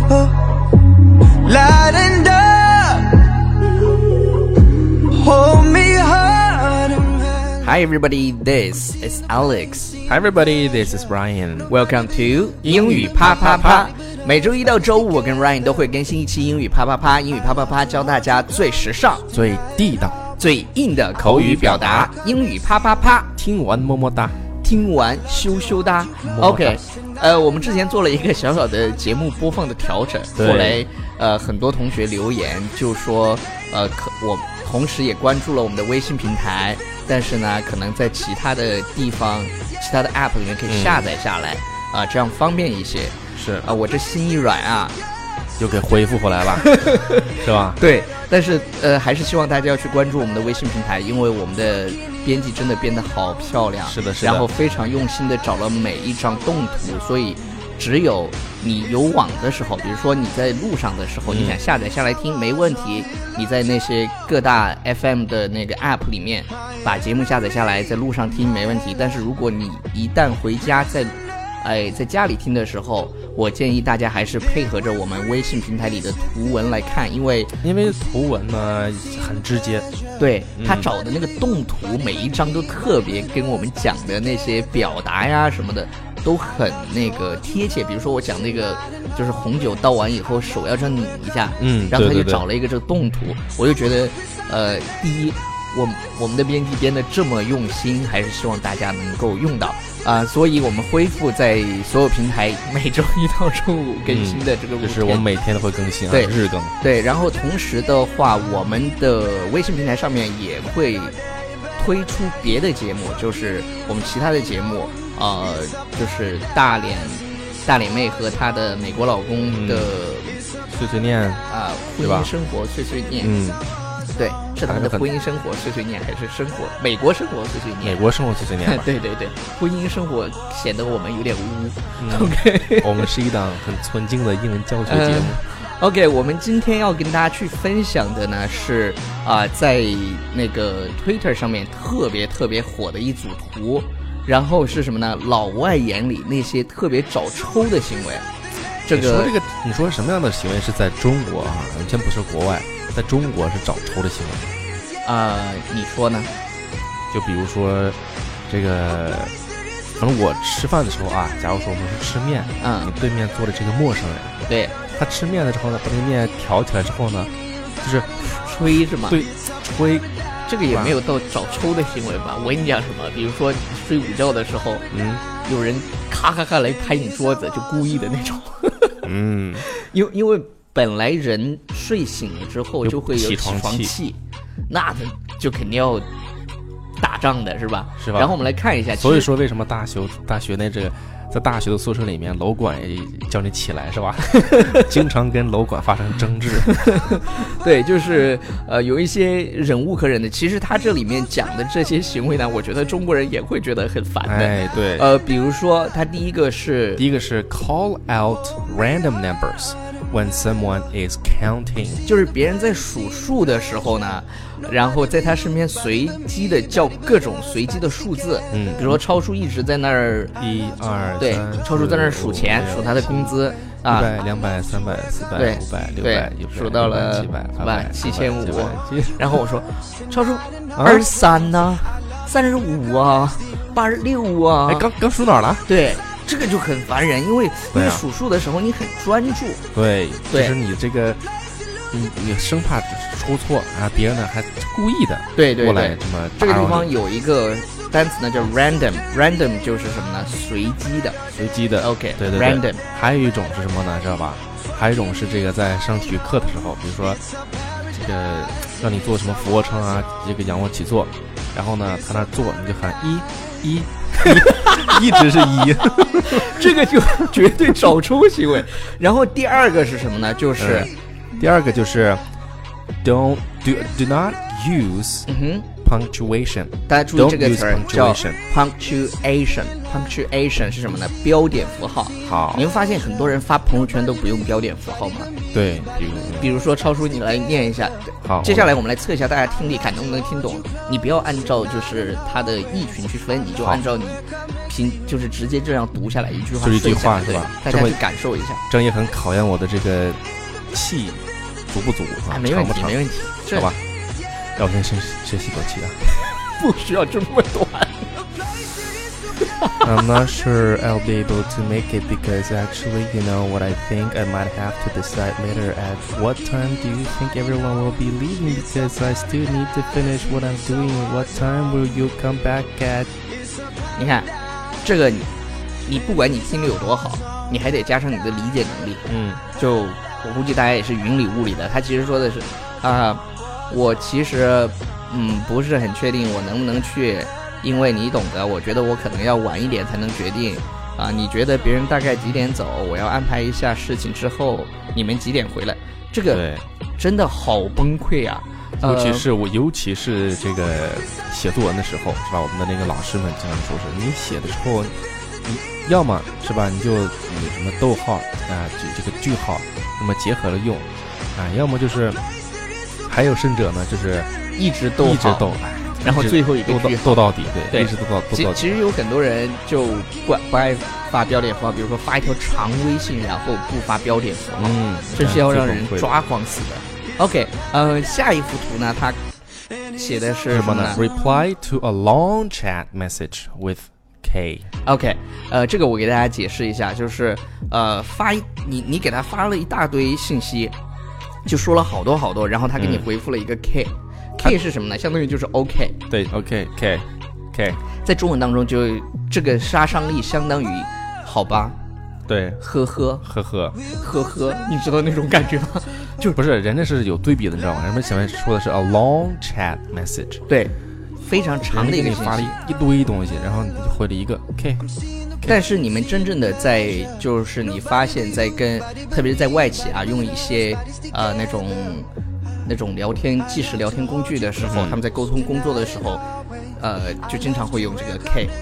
lightened up, hold me hard. Hi everybody, this is Alex. Hi everybody, this is Ryan. Welcome to 英语啪啪啪。每周一到周五，我跟 Ryan 都会更新一期英语啪啪啪。英语啪啪啪教大家最时尚、 最地道、 最硬的口语表达。英语啪啪啪， 听完么么哒， 听完羞羞哒。OK， 我们之前做了一个小小的节目播放的调整，后来很多同学留言就说，我同时也关注了我们的微信平台，但是呢，可能在其他的地方、其他的 App 里面可以下载下来，这样方便一些。 是我这心一软啊， 又给恢复回来了，是吧？ 对，但是还是希望大家要去关注我们的微信平台，因为我们的编辑真的编得好漂亮， 是的，是的， 然后非常用心的找了每一张动图，所以只有你有网的时候，比如说你在路上的时候，你想下载下来听没问题，你在那些各大 FM 的那个 App 里面把节目下载下来，在路上听没问题。但是如果你一旦回家在家里听的时候，我建议大家还是配合着我们微信平台里的图文来看，因为图文呢很直接， 对，他找的那个动图每一张都特别跟我们讲的那些表达呀什么的都很那个贴切。比如说我讲那个就是红酒倒完以后手要这样拧一下，然后他就找了一个这个动图，我就觉得第一我们的编辑编的这么用心，还是希望大家能够用到所以我们恢复在所有平台每周一到周五更新的这个就是我们每天都会更新对， 日更。对， 然后同时的话，我们的微信平台上面也会推出别的节目，就是我们其他的节目，就是大脸妹和她的美国老公的碎碎念婚姻生活碎碎念，对，是他们的婚姻生活碎碎念，还是美国生活碎碎念？ 美国生活碎碎念对对对，婚姻生活显得我们有点污。OK， 我们是一档很纯净的英文教学节目。 OK， 我们今天要跟大家去分享的呢是在那个 Twitter 上面特别特别火的一组图，然后是什么呢？老外眼里那些特别找抽的行为。 你说什么样的行为是在中国啊？完全不是国外，在中国是找抽的行为。 你说呢？ 就比如说这个，反正我吃饭的时候假如说我们是吃面，你对面坐的这个陌生人， 对， 他吃面的时候呢，把那个面挑起来之后呢，就是吹是吗？ 对，吹。 这个也没有到找抽的行为吧？我跟你讲什么？比如说睡午觉的时候，有人咔咔咔来拍你桌子，就故意的那种。因为本来人睡醒了之后就会有起床气，那就肯定要打仗的是吧？是吧？然后我们来看一下， 所以说为什么大学在大学的宿舍里面，楼管也叫你起来是吧？经常跟楼管发生争执。 对，就是有一些忍无可忍的。其实他这里面讲的这些行为呢，我觉得中国人也会觉得很烦的。 对。 比如说他第一个是 call out random numbers when someone is counting， 就是别人在数数的时候呢，然后在他身边随机的叫各种随机的数字，比如说超叔一直在那儿 1、2， 对，超叔在那儿数钱，数他的工资 100、200、300、400、500、600， 数到了 700、 7500，然后我说超叔23呢，35啊，86啊， 刚数哪儿了？ 对。这个就很烦人，因为你数数的时候你很专注， 对，就是你这个你生怕出错别人呢还故意的对过来这么这个地方有一个单词呢叫 random 就是什么呢？随机的 OK， 对 random。 还有一种是什么呢？知道吧？还有一种是这个在上体育课的时候，比如说这个让你做什么俯卧撑这个仰卧起坐，然后呢他那做你就喊一一直是1， 这个就绝对找抽行为。然后第二个是什么呢？就是第二个就是 do not use punctuation。 大家注意这个词儿叫 punctuation 是什么呢？标点符号。 好， 你会发现很多人发朋友圈都不用标点符号吗？ 对， 比如说超叔，你来念一下。 好， 接下来我们来测一下大家听力看能不能听懂。你不要按照就是它的意群去分，你就按照你就是直接这样读下来一句话， 就一句话是吧？ 大家去感受一下。 这也很考验我的这个气足不足啊， 没问题， 长不长没问题， 好吧？让我先深吸口气啊。 不需要这么短。 I'm not sure I'll be able to make it because actually, you know what I think I might have to decide later at what time do you think everyone will be leaving because I still need to finish what I'm doing. What time will you come back at? 你看，这个你不管你听力有多好，你还得加上你的理解能力。就我估计大家也是云里雾里的。他其实说的是我其实不是很确定我能不能去。因为你懂得，我觉得我可能要晚一点才能决定你觉得别人大概几点走？我要安排一下事情之后，你们几点回来？这个真的好崩溃啊！ 尤其是这个写作文的时候，是吧？我们的那个老师们经常说是，你写的时候，你要么是吧，你什么逗号这个句号，那么结合了用要么就是还有甚者呢，就是一直逗，然后最后一个句逗到底， 对， 一直逗到底。 其实有很多人就不爱发标点符号，比如说发一条长微信，然后不发标点符号，真是要让人抓狂死的。OK， 下一幅图呢，它写的是什么呢 ？Reply to a long chat message with K。OK， 这个我给大家解释一下，就是你给他发了一大堆信息，就说了好多，然后他给你回复了一个 K。K 是什么呢？相当于就是 OK。 对 ，OK K， 在中文当中就这个杀伤力相当于好吧， 对， 呵呵，你知道那种感觉吗？就不是人家是有对比的，你知道吗？人们前面说的是 a long chat message， 对，非常长的一个信息， 发了一堆东西，然后你就回了一个 K。 但是你们真正的就是你发现在特别是在外企用一些那种即时聊天工具的时候，他们在沟通工作的时候，就经常会用这个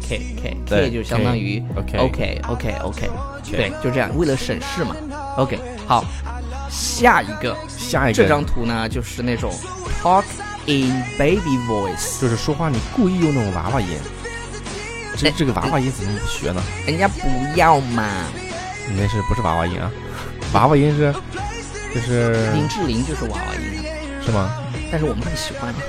K， 就相当于 OK， 对，就这样，为了省事嘛。OK， 好，下一个这张图呢，就是那种 talk in baby voice， 就是说话你故意用那种娃娃音。这个娃娃音怎么不学呢？ 人家不要嘛。 你那不是娃娃音啊？娃娃音就是林志玲就是娃娃音。 是吗？ 但是我们很喜欢。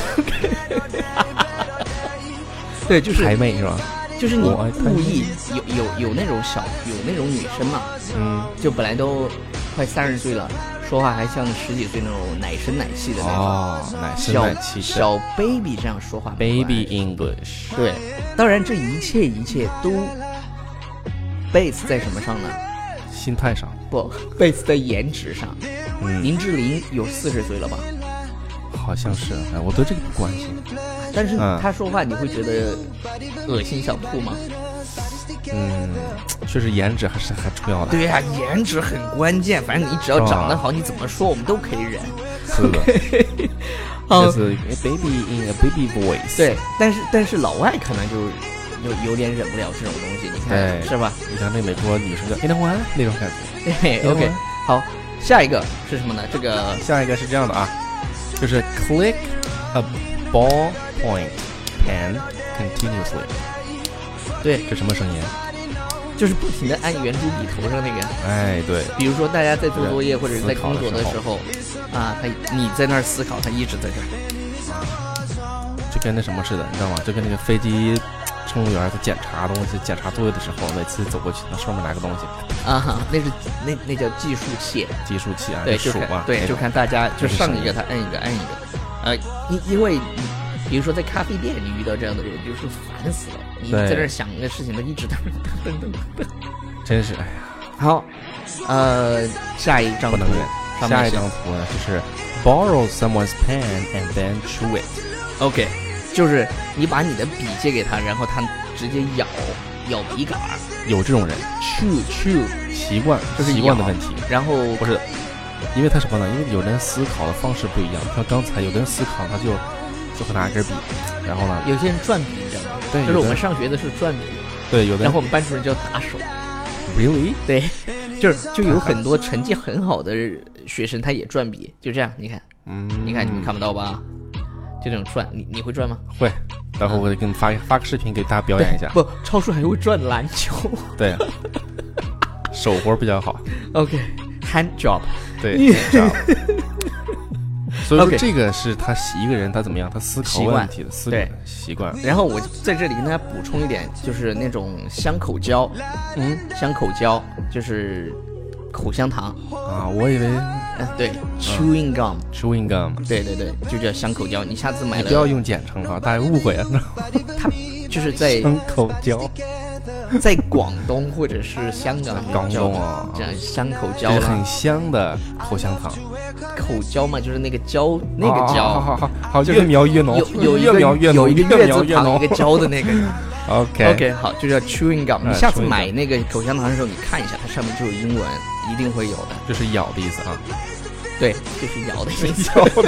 对，就是台妹是吧？ 就是你故意有那种那种女生嘛，就本来都快30岁了，说话还像10几岁那种奶声奶气的那种， 奶声奶气小 baby 这样说话 ，baby English。 对，当然这一切都 base 在什么上呢？ 心态上。 不 ，base 在颜值上。林志玲有40岁了吧？ 好像是，我对这个不关心。 但是她说话你会觉得恶心想吐吗？ 确实颜值还是很重要的。 对呀，颜值很关键。反正你只要长得好，你怎么说我们都可以忍。 是的。这是 baby in a baby voice。 对，但是老外可能就有点忍不了这种东西，你看是吧？ 你像那美国女生叫 anyone 那种感觉。 对 ，OK， 好。下一个是什么呢？ 下一个是这样的就是 click a ballpoint pen continuously。 对， 这什么声音？ 就是不停的按圆珠笔头上那个。 对。 比如说大家在做作业或者是在工作的时候你在那儿思考，他一直在这儿。 就跟那什么似的，你知道吗？就跟那个飞机乘务员在检查东西、检查作业的时候，每次走过去，那上面拿个东西那叫计数器。 对，数嘛。 对，就看大家就上一个他按一个。因为比如说在咖啡店，你遇到这样的人，就是烦死了。你在这想一个事情，他一直噔。 真是哎呀。 好，下一张图呢， 就是 borrow someone's pen and then chew it。 OK， 就是你把你的笔借给他，然后他直接咬笔杆。 有这种人 chew 习惯， 就是习惯的问题。 然后不是，因为他什么呢？因为有人思考的方式不一样。像刚才有的人思考，他就会拿一根笔，然后呢， 有些人转笔，你知道吗？对，就是我们上学的是转笔。 对，有的。 然后我们班主任叫打手。 Really？ 对，就有很多成绩很好的学生，他也转笔，就这样，你看，你们看不到吧？ 就这种转，你会转吗？ 会，待会儿我给你发个视频给大家表演一下。 不，超叔还会转篮球。 对，手活比较好。 OK，hand job。 对，hand job。所以说 OK 这个是他一个人他怎么样，他思考问题的习惯。 然后我在这里跟大家补充一点，就是那种香口胶，香口胶就是口香糖啊，我以为对，chewing gum，chewing gum， 对，就叫香口胶。你下次买了， 你不要用简称哈，大家误会啊。 它就是在香口胶， 在广东或者是香港， 广东啊， 这样香口胶是很香的口香糖。 口胶嘛，就是那个胶，那个胶， 好，越描越浓，越描越浓， 有一个月字旁一个胶的那个。OK， 好，就叫 chewing gum。你下次买那个口香糖的时候，你看一下，它上面就有英文，一定会有的。 就是咬的意思啊。 对，就是咬的意思。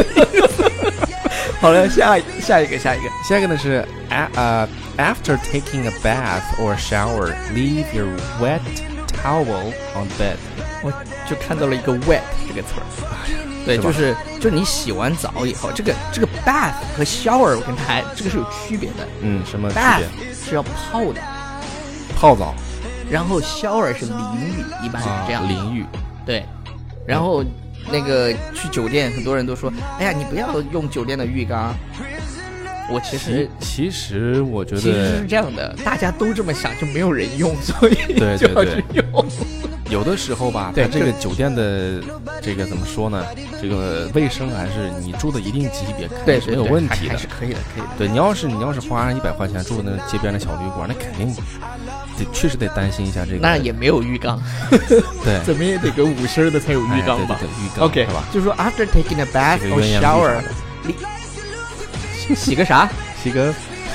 好了，下一个呢是 after taking a bath or shower, leave your wet towel on bed。 我就看到了一个 wet 这个词儿，对，就是你洗完澡以后，这个 bath 和 shower 我跟它这个是有区别的。 什么区别 ？bath 是要泡的， 泡澡， 然后 shower 是淋浴，一般是这样。 淋浴， 对，然后那个去酒店，很多人都说，哎呀，你不要用酒店的浴缸。我其实我觉得其实是这样的，大家都这么想，就没有人用，所以就要去用。 有的时候吧，它这个酒店的这个怎么说呢？这个卫生还是你住的一定级别，肯定是没有问题的， 还是可以的。 对，你要是花100块钱住那个街边的小旅馆，那肯定确实得担心一下这个。 那也没有浴缸， 对， 怎么也得个5升的才有浴缸吧？ 对，浴缸 OK 是吧？ 就说 after taking a bath or shower， 洗个啥？ 洗个。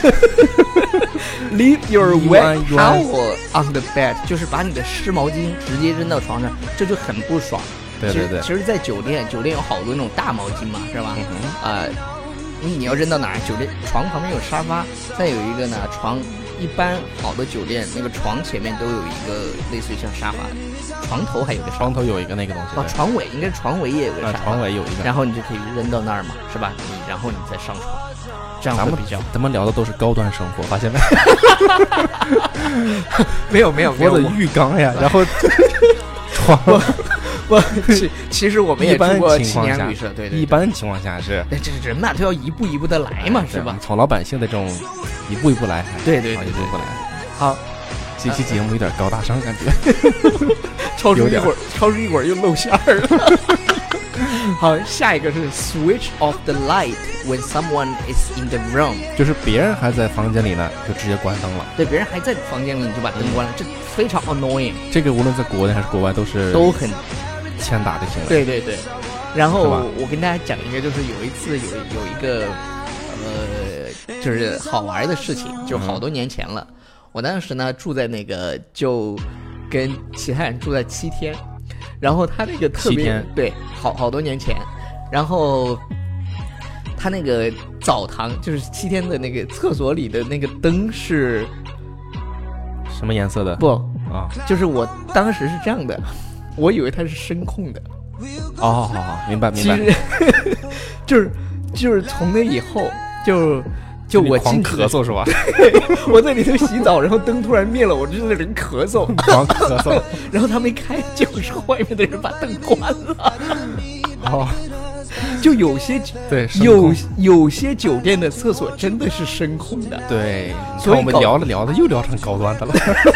Leave your wet towel on the bed， 就是把你的湿毛巾直接扔到床上，这就很不爽。 对。 其实，在酒店有好多那种大毛巾嘛，是吧？你要扔到哪儿？酒店床旁边有沙发，再有一个呢，床一般好的酒店那个床前面都有一个类似于像沙发，床头还有个床头有一个那个东西。 床尾应该是床尾也有个沙发， 床尾有一个， 然后你就可以扔到那儿嘛，是吧？然后你再上床。这样会比较， 咱们聊的都是高端生活，发现没？ 没有， 我的浴缸呀，然后床， 其实我们也住过青年旅社，对， 一般情况下是， 这人嘛都要一步一步的来嘛，是吧？ 从老百姓的这种一步一步来， 对， 一步一步来。 好， 这期节目有点高大上感觉， 超出一会儿又露馅儿了。好，下一个是 switch off the light when someone is in the room， 就是别人还在房间里呢，就直接关灯了。 对，别人还在房间里，你就把灯关了，这非常 annoying。 这个无论在国内还是国外都很欠打的行为。 对。然后我跟大家讲一个，就是有一次有一个就是好玩的事情，就好多年前了。我当时呢住在那个，就跟其他人住在7天。然后他那个特别对，好多年前，然后他那个澡堂就是7天的那个厕所里的那个灯是什么颜色的？ 不啊，就是我当时是这样的，我以为它是声控的。 好，明白。 其实就是从那以后就我狂咳嗽是吧？ 我在里头洗澡，然后灯突然灭了，我就在里面咳嗽， 狂咳嗽， 然后他没开，就是外面的人把灯关了。就有些对有些酒店的厕所真的是声控的， 对，所以我们聊的又聊成高端的了。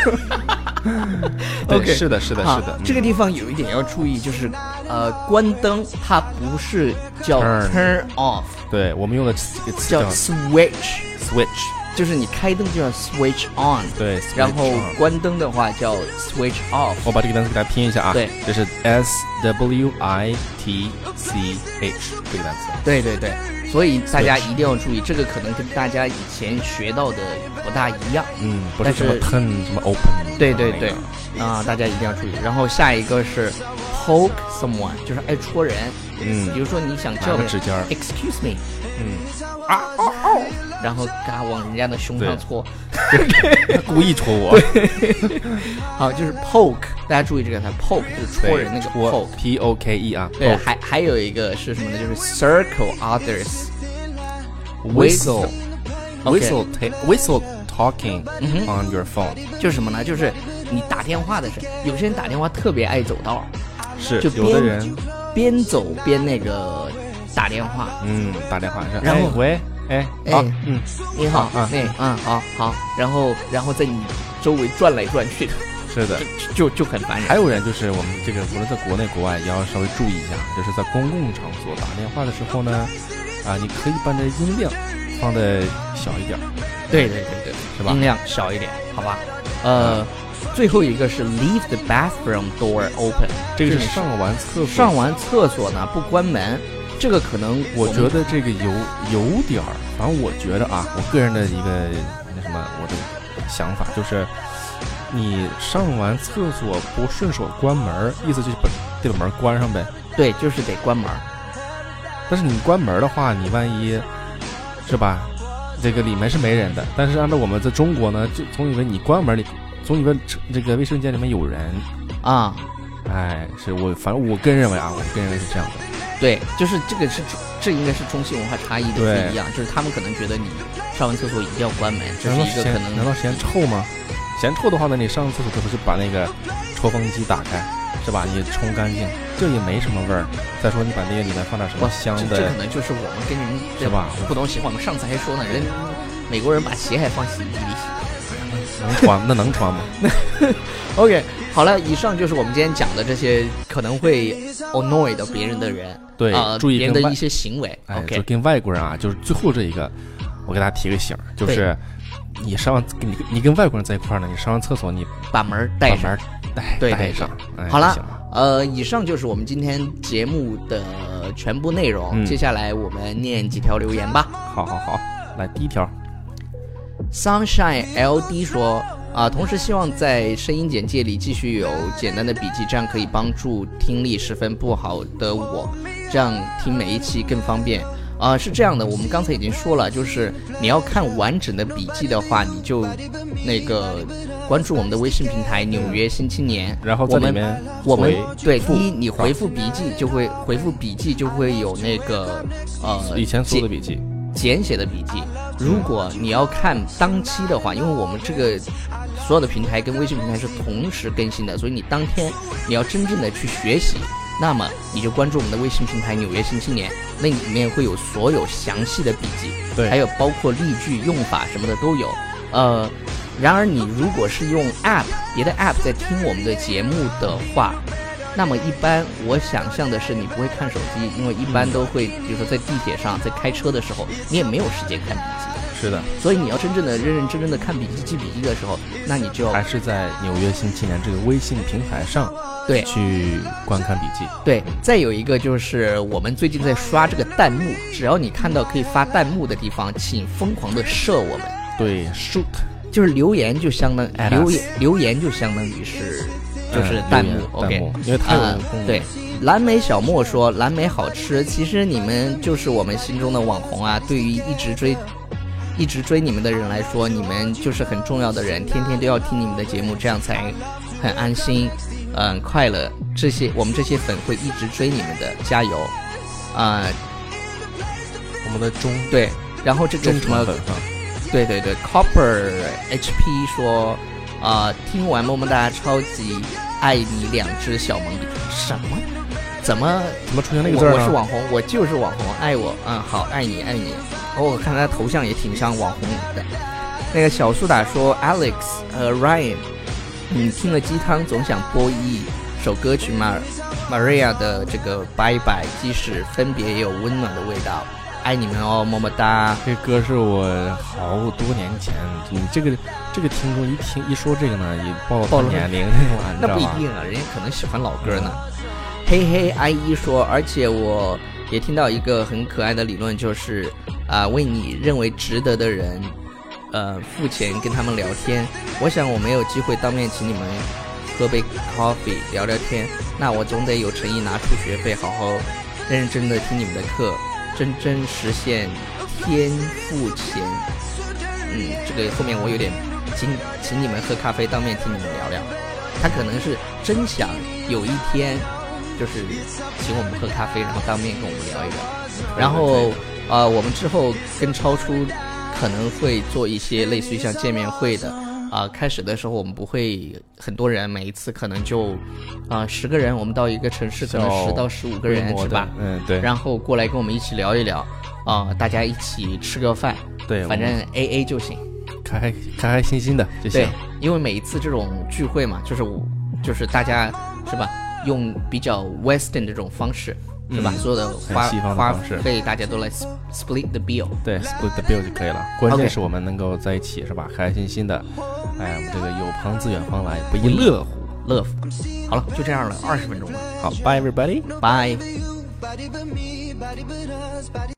OK， 是的。 这个地方有一点要注意，就是关灯它不是叫 turn off， 对，我们用的这个词叫 switch， 就是你开灯就叫 switch on， 对， 然后关灯的话叫 switch off。 我把这个单词给大家拼一下啊， 对， 这是 SWITCH 这个单词。 对，所以大家一定要注意，这个可能跟大家以前学到的不大一样。 不是什么 turn 什么 open。 对，大家一定要注意。然后下一个是 poke someone， 就是爱戳人。比如说你想叫个指尖 ，excuse me， 然后嘎往人家的胸上戳， 故意戳我。 好，就是 poke， 大家注意这个，它 poke 就是戳人那个 poke，POKE 啊。 对，还有一个是什么呢？就是 circle others， whistle OK whistle talking 嗯哼 on your phone， 就是什么呢？就是你打电话的时候，有些人打电话特别爱走道， 是就有的人边走边那个打电话。 打电话是， 然后喂，好， 你好啊好，然后在你周围转来转去的， 是的。 就很烦人。 还有人就是我们这个无论在国内国外也要稍微注意一下，就是在公共场所打电话的时候呢，你可以把这音量放的小一点。 对， 是吧？ 音量小一点，好吧？最后一个是 leave the bathroom door open， 这个是上完厕所。 上完厕所呢不关门，这个可能我觉得这个有点儿，反正我觉得我个人的一个我的想法就是，你上完厕所不顺手关门，意思就是得把门关上呗。 对，就是得关门。 但是你关门的话，你万一是吧，这个里面是没人的，但是按照我们在中国呢，就总以为你关门，你总以为这个卫生间里面有人啊。反正我个人认为是这样的。对，就是这应该是中西文化差异的不一样，就是他们可能觉得你上完厕所一定要关门，这是一个可能。 难道嫌臭吗？嫌臭的话呢，你上厕所是不是把那个抽风机打开，是吧？你冲干净，这也没什么味儿。再说你把那个里面放点什么香的， 这可能就是我们跟人是吧不同习惯。我们上次还说呢，美国人把鞋还放洗衣机里洗， 能穿那能穿吗 ？OK， 好了，以上就是我们今天讲的这些可能会 annoy 到别人的人， 对，注意别人的一些行为。 就跟外国人就是最后这一个，我给大家提个醒，就是你跟外国人在一块呢，你上完厕所你把门带上， 带上。 好了，以上就是我们今天节目的全部内容。接下来我们念几条留言吧。 好，来第一条 ，Sunshine LD 说同时希望在声音简介里继续有简单的笔记，这样可以帮助听力十分不好的我，这样听每一期更方便。是这样的，我们刚才已经说了，就是你要看完整的笔记的话，你就那个关注我们的微信平台《纽约新青年》， 然后在里面我们对第一，你回复笔记就会有那个以前所有的笔记简写的笔记。如果你要看当期的话，因为我们这个所有的平台跟微信平台是同时更新的，所以你当天你要真正的去学习，那么你就关注我们的微信平台《纽约新青年》，那里面会有所有详细的笔记， 对， 还有包括例句、用法什么的都有。然而你如果是用 App 别的 App 在听我们的节目的话，那么一般我想象的是你不会看手机，因为一般都会，比如说在地铁上、在开车的时候，你也没有时间看笔记。 是的， 所以你要真正的认认真真的看笔记、记笔记的时候，那你就还是在纽约新青年这个微信平台上对去观看笔记。 对，再有一个就是我们最近在刷这个弹幕，只要你看到可以发弹幕的地方，请疯狂的射我们。 对 ，shoot， 就是留言就相当留言就相当于是就是弹幕 ，OK， 因为太有功能。 对，蓝莓小莫说蓝莓好吃，其实你们就是我们心中的网红啊！对于一直追你们的人来说，你们就是很重要的人，天天都要听你们的节目，这样才很安心，快乐。我们这些粉会一直追你们的，加油！ 我们的对，然后这个什么，对 ，Copper HP 说，听完么么哒，超级爱你2只小萌笔，什么？怎么出现那个字呢？ 我是网红，我就是网红，爱我，好，爱你。我看他头像也挺像网红的。那个小苏打说 ，Alex 和 Ryan， 听了鸡汤总想播一首歌曲Maria 的这个拜拜，即使分别也有温暖的味道，爱你们哦，么么哒。 这歌是我好多年前，你这个听众一说这个呢，也暴露年龄了， 那不一定啊，人家可能喜欢老歌呢。嘿阿姨说，而且我也听到一个很可爱的理论，就是为你认为值得的人付钱跟他们聊天。我想我没有机会当面请你们喝杯 coffee 聊聊天，那我总得有诚意拿出学费，好好认认真的听你们的课，真实现天付钱。这个后面我有点请你们喝咖啡，当面听你们聊聊。他可能是真想有一天就是请我们喝咖啡，然后当面跟我们聊一聊。然后我们之后跟超出可能会做一些类似于像见面会的。开始的时候我们不会很多人，每一次可能就10个人，我们到一个城市可能10到15个人是吧？ 对。 然后过来跟我们一起聊一聊，大家一起吃个饭， 对， 反正 AA 就行， 开心心的就行。 对，因为每一次这种聚会嘛，就是大家是吧，用比较 Western 这种方式。是吧？所有的花费大家都来 split the bill， 对 split the bill 就可以了。关键是我们能够在一起，是吧？开开心心的，我们这个有朋自远方来，不亦乐乎。 好了，就这样了，20分钟了。 好 ，Bye everybody， Bye。